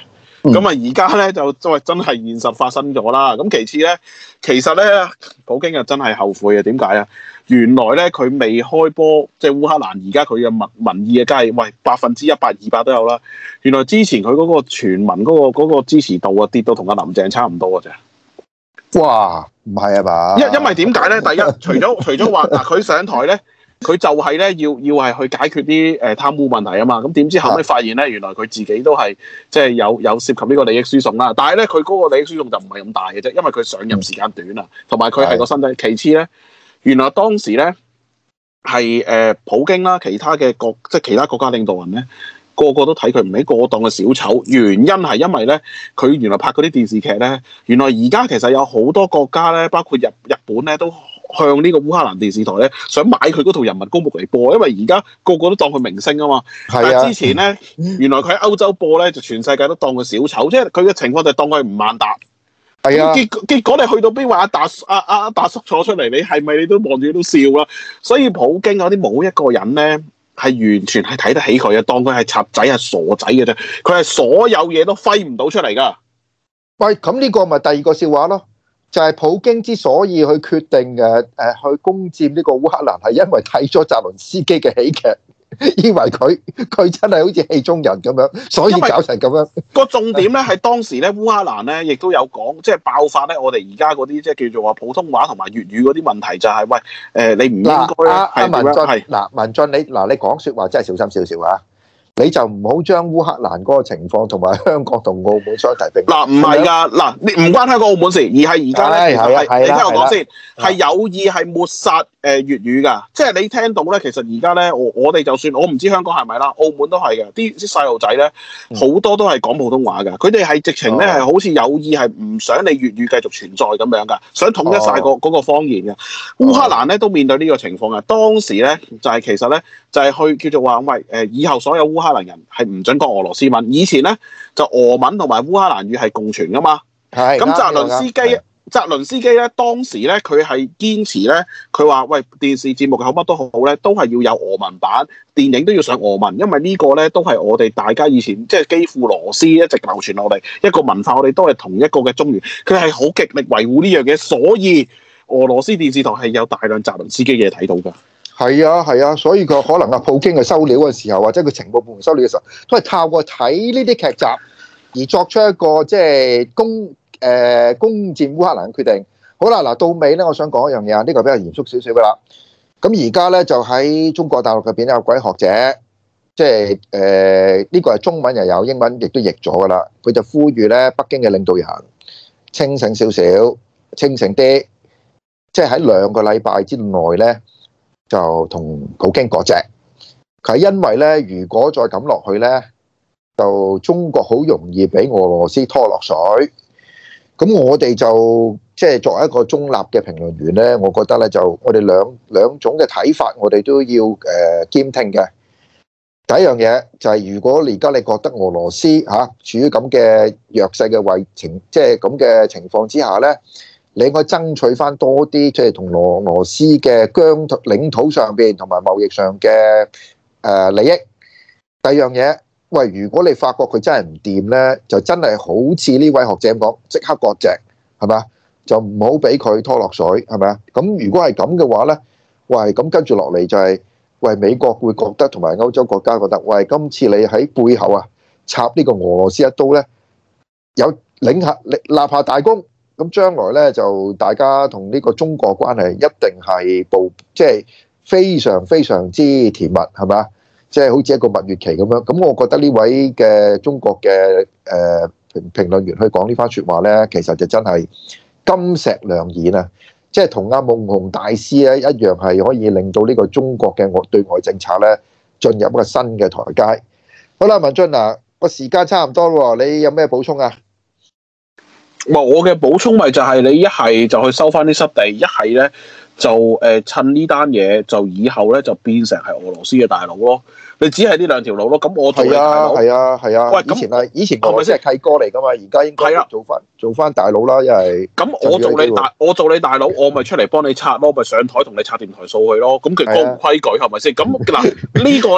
咁啊而家咧就真係現實發生咗啦。咁其實咧，普京啊真係後悔嘅。點解啊？原來咧佢未開波，即係烏克蘭而家佢嘅民意嘅梗係喂100%、200都有啦。原來之前佢嗰個全民嗰個支持度啊跌到同阿林鄭差唔多嘅啫。 哇，唔係啊嘛？ 因為點解咧？第一，除咗話嗱，佢上台咧，佢就係咧要係去解決啲貪污問題啊嘛。咁點知後尾發現咧，原來佢自己都係即係有涉及呢個利益輸送啦。但係咧，佢嗰個利益輸送就唔係咁大嘅啫，因為佢上任時間短啊，同埋佢係個身體。其次咧，原來當時咧係普京啦，其他國家領導人咧，個個都睇佢唔係過當嘅小丑。原因係因為咧，佢原來拍嗰啲電視劇咧，原來而家其實有好多國家咧，包括日本咧，都向呢個烏克蘭電視台咧，想買佢嗰套人民公僕嚟播，因為而家個個都當佢明星啊嘛。但係之前咧，原來佢喺歐洲播咧，就全世界都當佢小丑，即係佢嘅情況就係當佢吳孟達。係啊，結果你去到邊話阿達叔坐出嚟，你係咪你都望住都笑啦？所以普京嗰啲冇一個人咧係完全係睇得起佢嘅，當佢係賊仔係傻仔嘅啫。佢係所有嘢都揮唔到出嚟噶。 喂，咁呢個咪第二個笑話咯？就係普京之所以去決定去攻佔呢個烏克蘭，係因為睇咗澤倫斯基嘅喜劇，以為佢真係好似戲中人咁樣，所以搞成咁樣。個重點咧係當時咧烏克蘭咧亦都有講，即係爆發咧我哋而家嗰啲即係叫做話普通話同埋粵語嗰啲問題，就係喂你唔應該係點樣？係文進你講説話真係小心少少啊！你就唔好將烏克蘭嗰個情況同埋香港同澳門相提並論。 唔係㗎，你唔關香港澳門事，而係而家咧，其實係你聽我講先，係有意係抹殺粵語㗎。即係你聽到咧，其實而家咧，我哋就算我唔知香港係咪啦，澳門都係嘅。啲細路仔咧，好多都係講普通話㗎。佢哋係直情咧係好似有意係唔想你粵語繼續存在咁樣㗎，想統一晒嗰個方言嘅。烏克蘭咧都面對呢個情況㗎。當時咧就係其實咧就係去叫做話喂以後所有烏克蘭人係唔准講俄羅斯文，以前咧就俄文同埋烏克蘭語係共存噶嘛。係咁，澤倫斯基咧當時咧佢係堅持咧，佢話喂電視節目好乜都好咧，都係要有俄文版，電影都要上俄文，因為呢個咧都係我哋大家以前即係基輔羅斯一直流傳落嚟一個文化，我哋都係同一個嘅中原，佢係好極力維護呢樣嘢，所以俄羅斯電視台係有大量澤倫斯基嘅嘢睇到㗎。 係啊，所以佢可能普京嘅收料嘅時候，或者佢情報部門收料嘅時候，都係透過睇呢啲劇集而作出一個即係攻佔烏克蘭嘅決定。好啦，嗱到尾咧，我想講一樣嘢啊，呢個比較嚴肅少少噶啦。咁而家咧就喺中國大陸入邊有位學者，即係呢個係中文又有，英文亦都譯咗噶啦。佢就呼籲咧北京嘅領導人清醒少少，清醒啲，即係喺2個禮拜之內咧。就同普京割席，佢係因為咧，如果再咁落去咧，就中國好容易俾俄羅斯拖落水。咁我哋就即係作為一個中立嘅評論員咧，我覺得咧就我哋兩種嘅睇法，我哋都要兼聽嘅。第一樣嘢就係，如果而家你覺得俄羅斯處於咁嘅弱勢嘅情，即係咁嘅情況之下咧。你應該爭取翻多啲，即係同俄羅斯嘅領土上邊同埋貿易上嘅利益。第二樣嘢，喂，如果你發覺佢真係唔掂咧，就真係好似呢位學者咁講，即刻割席，係咪啊？就唔好俾佢拖落水，係咪啊？咁如果係咁嘅話咧，喂，咁跟住落嚟就係，喂，美國會覺得同埋歐洲國家覺得，喂，今次你喺背後啊插呢個俄羅斯一刀咧，有立下大功。咁將來咧就大家同呢個中國關係一定係即係非常非常之甜蜜，係咪啊？即係好似一個蜜月期咁樣。咁我覺得呢位嘅中國嘅評論員去講呢番説話咧，其實就真係金石良言啊！即係同阿夢熊大師咧一樣，係可以令到呢個中國嘅對外政策咧進入一個新嘅台階。好啦，文進嗱，個時間差唔多喎，你有咩補充啊？ 我嘅補充咪就係你一係就去收翻啲失地，一係咧就趁呢單嘢就以後咧就變成係俄羅斯嘅大佬咯。你只係呢2條路咯。咁我做你大佬係啊。喂，以前俄羅斯係契哥嚟噶嘛，而家應該做翻大佬啦，因為咁我做你大佬，我咪出嚟幫你拆咯，咪上台同你拆掂台數去咯。咁佢講規矩係咪先？咁嗱呢個咧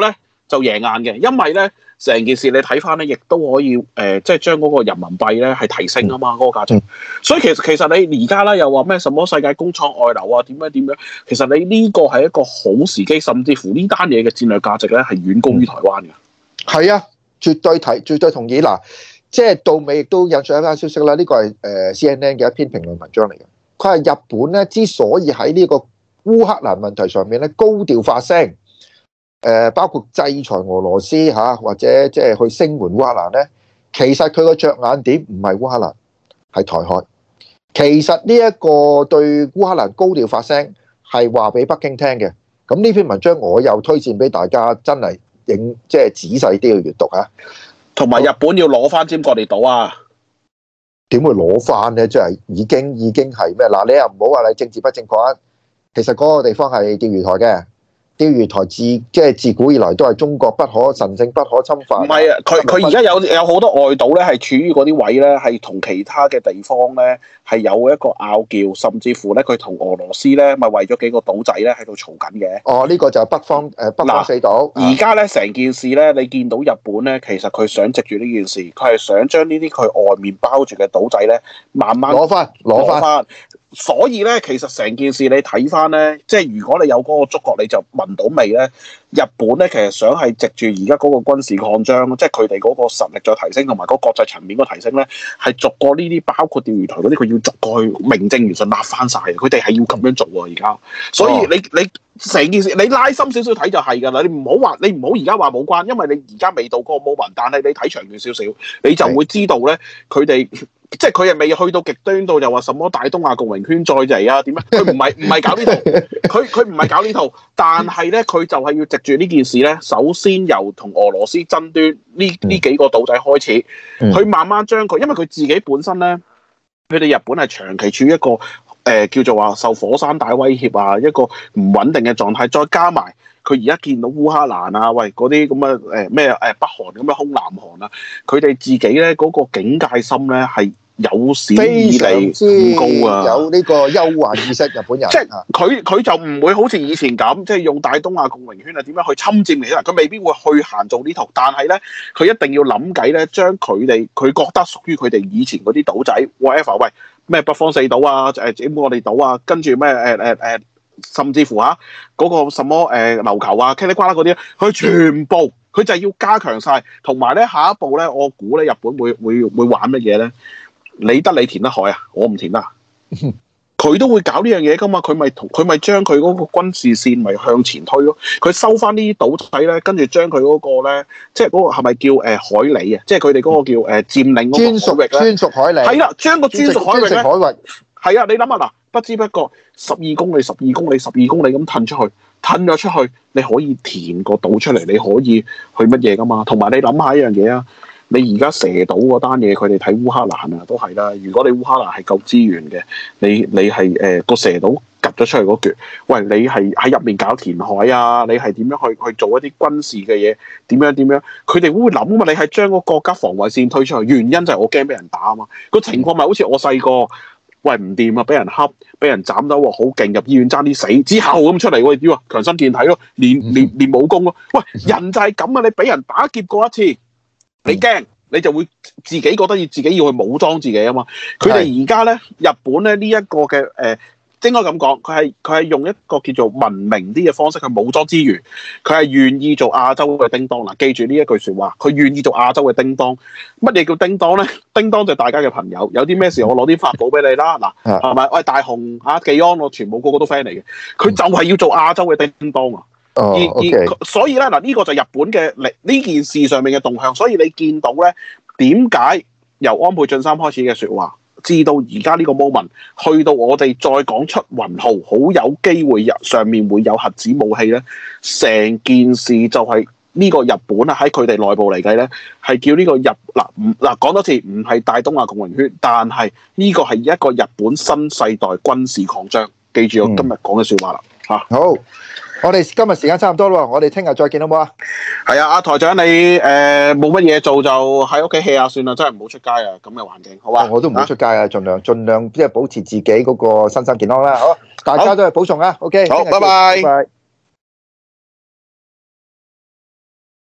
就贏硬嘅，因為咧成件事你睇翻咧，亦都可以即係將嗰個人民幣咧係提升啊嘛，嗰個價值。所以其實你而家咧又話咩什麼世界工廠外流啊點樣，其實你呢個係一個好時機，甚至乎呢單嘢嘅戰略價值咧係遠高於台灣嘅。 係啊，絕對同意嗱。即係到尾亦都引述一間消息啦，呢個係CNN 嘅一篇評論文章嚟嘅。佢係日本咧之所以喺呢個烏克蘭問題上面咧高調發聲，包括制裁俄羅斯嚇，或者即係去聲援烏克蘭咧，其實佢個着眼點唔係烏克蘭，係台海。其實呢一個對烏克蘭高調發聲係話俾北京聽嘅。咁呢篇文章我又推薦俾大家，真係即係仔細啲去閱讀嚇。 同埋日本要攞翻尖閣列島啊！ 點會攞翻咧？即係已經係咩？嗱，你又唔好話你政治不正確啊！其實嗰個地方係釣魚台嘅，釣魚台即係自古以來都係中國不可神聖不可侵犯。唔係啊， 佢而家有好多外島咧，係處於嗰啲位咧，係同其他嘅地方咧係有一個拗撬，甚至乎咧佢同俄羅斯咧咪為咗幾個島仔咧喺度嘈緊嘅。哦， 呢個就係北方四島。 而家咧成件事咧，你見到日本咧，其實佢想藉住呢件事，佢係想將呢啲佢外面包住嘅島仔咧，慢慢攞翻。所以咧，其實成件事你睇翻咧，即係如果你有嗰個觸覺，你就聞到味咧。日本咧其實想係藉住而家嗰個軍事擴張，即係佢哋嗰個實力再提升，同埋嗰個國際層面個提升咧，係逐個呢啲包括釣魚台嗰啲，佢要逐個去名正言順立翻晒。佢哋係要咁樣做喎而家。所以你成件事你拉深少少睇就係㗎啦。你唔好而家話冇關，因為你而家未到嗰個 moment，但係你睇長遠少少，你就會知道咧，佢哋。即係佢係未去到極端到又話什麼大東亞共榮圈再嚟啊點樣？佢唔係搞呢套，佢唔係搞呢套，但係咧佢就係要藉住呢件事咧，首先由同俄羅斯爭端呢幾個島仔開始，佢慢慢將佢，因為佢自己本身咧，佢哋日本係長期處於一個叫做話受火山大威脅啊，一個唔穩定嘅狀態，再加埋。佢而家見到烏克蘭啊，喂嗰啲咁嘅咩北韓咁嘅空南韓啊，佢哋自己咧嗰個警戒心咧係有史以嚟咁高啊， 有呢個憂患意識，日本人即係佢就唔會好似以前咁，即係用大東亞共榮圈啊點樣去侵佔嚟啦，佢未必會去行做呢套，但係咧佢一定要諗計咧，將佢覺得屬於佢哋以前嗰啲島仔 whatever， 喂咩北方四島啊，尖閣列島啊，跟住咩甚至乎嗰個什麼琉球啊、嘰里呱啦嗰啲，佢全部佢就係要加強晒，同埋咧下一步咧，我估咧日本會玩乜嘢咧？你填得海啊，我唔填得，佢都會搞呢樣嘢噶嘛，佢咪將佢嗰個軍事線咪向前推咯，佢收翻呢啲島仔咧，跟住將佢嗰個咧，即係嗰個係咪叫海里啊？即係佢哋嗰個叫佔領嗰個海域咧，專屬海里係啦，將個專屬海域咧，係啊，你諗下嗱。不知不覺12公里咁褪咗出去，你可以填個島出嚟，你可以去乜嘢噶嘛？同埋你諗下一樣嘢啊，你而家蛇島嗰單嘢，佢哋睇烏克蘭啊，都係啦。如果你烏克蘭係夠資源嘅，你係個蛇島夾咗出去嗰橛，喂，你係喺入面搞填海啊？你係點樣去做一啲軍事嘅嘢？點樣？佢哋會諗啊嘛？你係將個國家防衛線推出去，原因就係我驚俾人打啊嘛。個情況咪好似我細個。喂，唔掂啊！俾人恰，俾人斬到喎，好勁，入醫院爭啲死，之後咁出嚟喎，點啊？強身健體咯，練武功咯。喂，人就係咁啊！你俾人打劫過一次，你驚，你就會自己覺得自己要去武裝自己啊嘛。佢哋而家咧，日本咧呢一個嘅應該咁講，佢係用一個叫做文明啲嘅方式去武裝之餘，佢係願意做亞洲嘅叮當嗱。記住呢一句説話，佢願意做亞洲嘅叮當。乜嘢叫叮當咧？叮當就係大家嘅朋友，有啲咩事我攞啲法寶俾你啦。嗱，係咪？喂，大雄技安，我全部個個都 friend 嚟嘅。佢就係要做亞洲嘅叮當啊！所以咧嗱，呢個就係日本嘅呢件事上面嘅動向。所以你見到咧，點解由安倍晉三開始嘅説話？至到而家呢個 moment， 去到我哋再講出雲號，好有機會上面會有核子武器咧。成件事就係呢個日本啊，喺佢哋內部嚟計咧，係叫呢個講多次，唔係大東亞共榮圈，但係呢個係一個日本新世代軍事擴張。記住我今日講嘅説話啦嚇。 好。我哋今日時間差唔多啦，我哋聽日再見好唔好啊？ 係啊，阿台長你冇乜嘢做就喺屋企 hea 下算啦，真係唔好出街啊！咁嘅環境，好啊？ 我都唔好出街啊，盡量即係保持自己嗰個身心健康啦。好，大家都係保重啊。OK， 好，拜拜。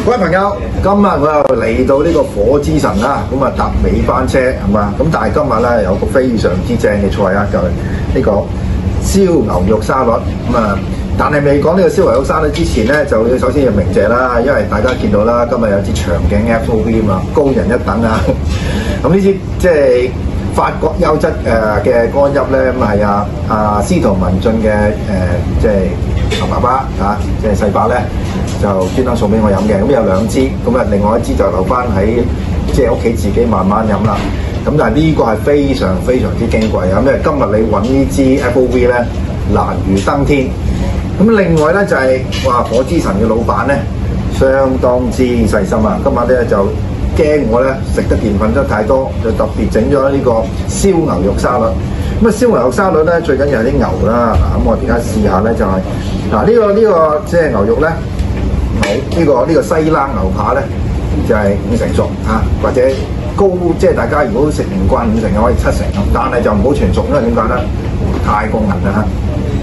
各位朋友，今日我又嚟到呢個火之神啦，咁啊搭尾班車係嘛？咁但係今日咧有個非常之正嘅菜啊，就係呢個燒牛肉沙律。咁啊，但係未講呢個燒牛肉沙律之前咧，就要首先要鳴謝啦，因為大家見到啦，今日有支長頸 FOV 啊嘛，高人一等啊。咁呢支即係法國優質嘅乾邑咧，咁係司徒文進嘅即係牛爸爸嚇，即係細伯咧。就專登送俾我飲嘅，咁有2支，咁啊另外1支就留翻喺即係屋企自己慢慢飲啦。咁但係呢個係非常非常之矜貴啊！因為今日你揾呢支 FOV 咧難如登天。咁另外咧就係、話火之神嘅老闆咧相當之細心啊！今晚咧就驚我咧食得澱粉質太多，就特別整咗呢個燒牛肉沙律。咁啊燒牛肉沙律咧最緊要係啲牛啦。咁我而家試下咧就係呢個即係牛肉咧。呢個西冷牛扒咧就係5成熟嚇，或者高即係大家如果食唔慣5成嘅可以7成，但係就唔好全熟，因為點解咧？太過韌啦嚇。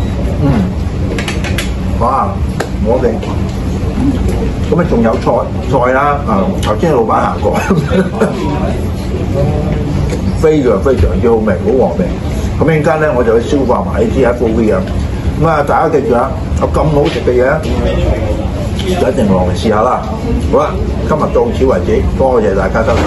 哇！我哋咁啊仲有菜啦頭先老闆行過，非常非常之好味，好和味。咁一陣間咧我就去消化埋呢啲 FOV 啊。咁啊大家記住啊，有咁好食嘅嘢。一定落嚟試下啦！好啦，今日到此為止，多謝大家收睇。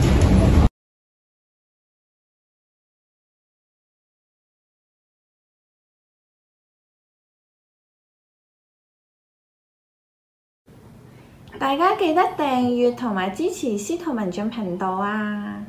大家記得訂閱同埋支持司徒文進頻道啊！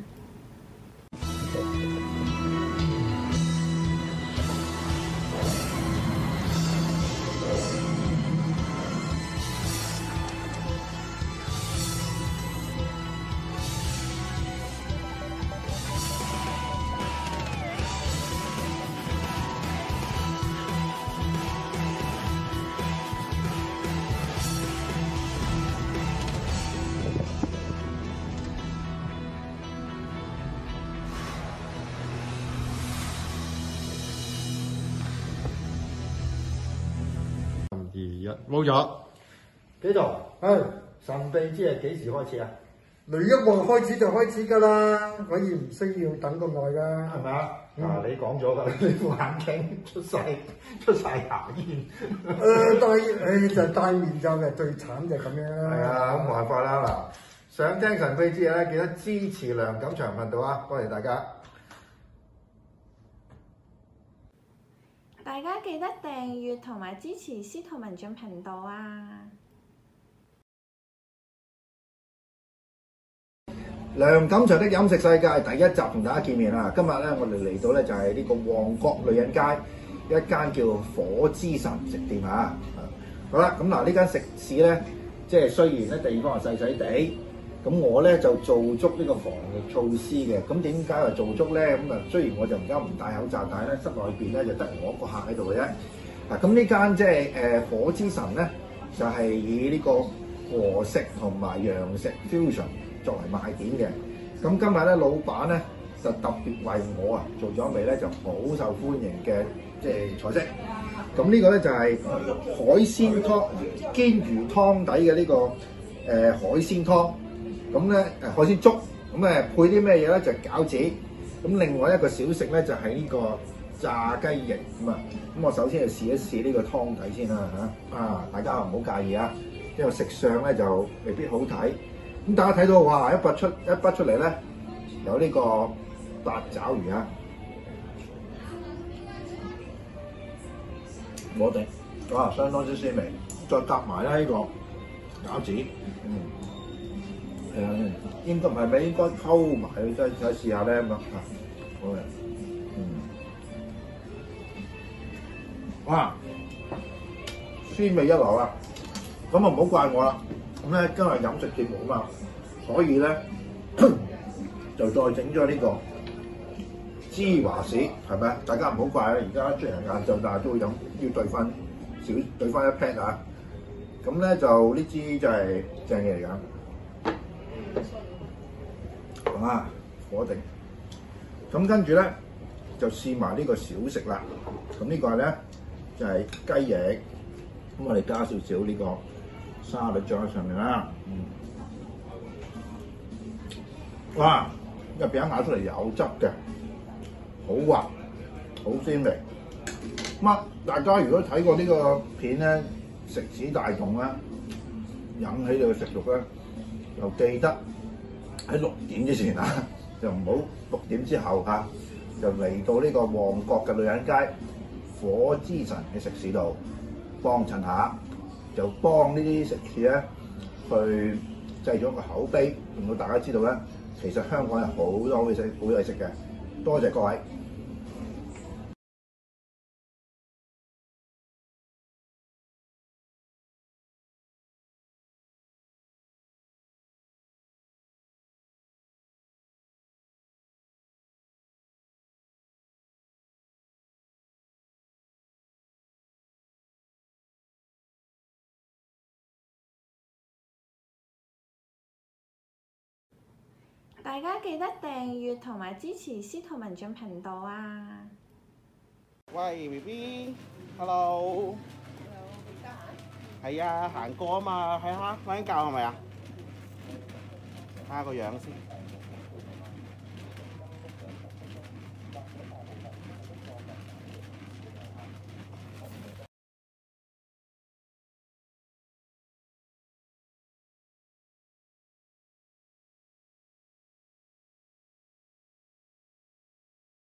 冇咗幾度？ 係神秘之夜幾時開始啊？ 雷一望開始就開始㗎啦，可以唔需要等咁耐㗎， 係咪啊？你講咗㗎，你副眼鏡出晒牙煙。 就戴面罩嘅最慘就係咁樣啦。 係啊，咁冇辦法啦嗱。想聽神秘之夜咧，記得支持梁錦祥頻道啊！多謝大家。 大家記得訂閱同埋支持司徒文進頻道啊！ 梁錦祥的飲食世界第1集同大家見面啦！今日咧我哋嚟到咧就係呢個旺角女人街一間叫火之神食店啊！好啦，咁嗱呢間食肆咧，即係雖然咧地方係細細地，咁我咧就做足呢個防疫措施嘅。咁點解話做足咧？咁啊雖然我就而家唔戴口罩，但係咧室內邊咧就得我一個客喺度嘅啫。嗱，咁呢間即係火之神咧，就係以呢個和食同埋洋食 fusion 作為賣點嘅。咁今日咧老闆咧就特別為我做咗一味咧就好受歡迎嘅即係菜式。咁呢個咧就係海鮮湯煎魚湯底嘅呢個海鮮湯。咁咧海鮮粥，咁配啲咩嘢咧？就係餃子。咁另外一個小食咧就係呢個炸雞翼咁啊。咁我首先就試一試呢個湯底先啦嚇。大家唔好介意啊，因為食相咧就未必好睇。咁大家睇到哇，一筆出嚟咧，有呢個八爪魚啊，我哋哇相當之鮮味，再夾埋咧呢個餃子，係啊，應該唔係咪應該溝埋，再試下咧咁啊，好嘅，哇，鮮味一流啊！咁啊唔好怪我啦，咁咧今日飲食節目啊嘛，所以咧就再整咗呢個芝華士，係咪啊？大家唔好怪啊！而家雖然晏晝，但係都會飲，要兌翻一 pat 啊！咁咧就呢支就係正嘢嚟㗎。火定，咁跟住咧就試埋呢個小食啦。咁呢個咧就係雞翼，咁我哋加少少呢個沙律醬喺上面啦。哇！入邊一咬出嚟有汁嘅，好滑，好鮮味。咁大家如果睇過呢個片咧，食指大動咧，引起你嘅食慾咧，又記得喺6點之前啊，就唔好6點之後嚇，就嚟到呢個旺角嘅女人街火之神嘅食肆度幫襯下，就幫呢啲食肆咧去製咗個口碑，令到大家知道咧，其實香港有好多好嘢食嘅。多謝各位。 大家記得訂閱同埋支持司徒文進頻道啊！ 喂 BB，hello。係啊，行過啊嘛，睇下瞓緊覺係咪啊？睇下個樣先。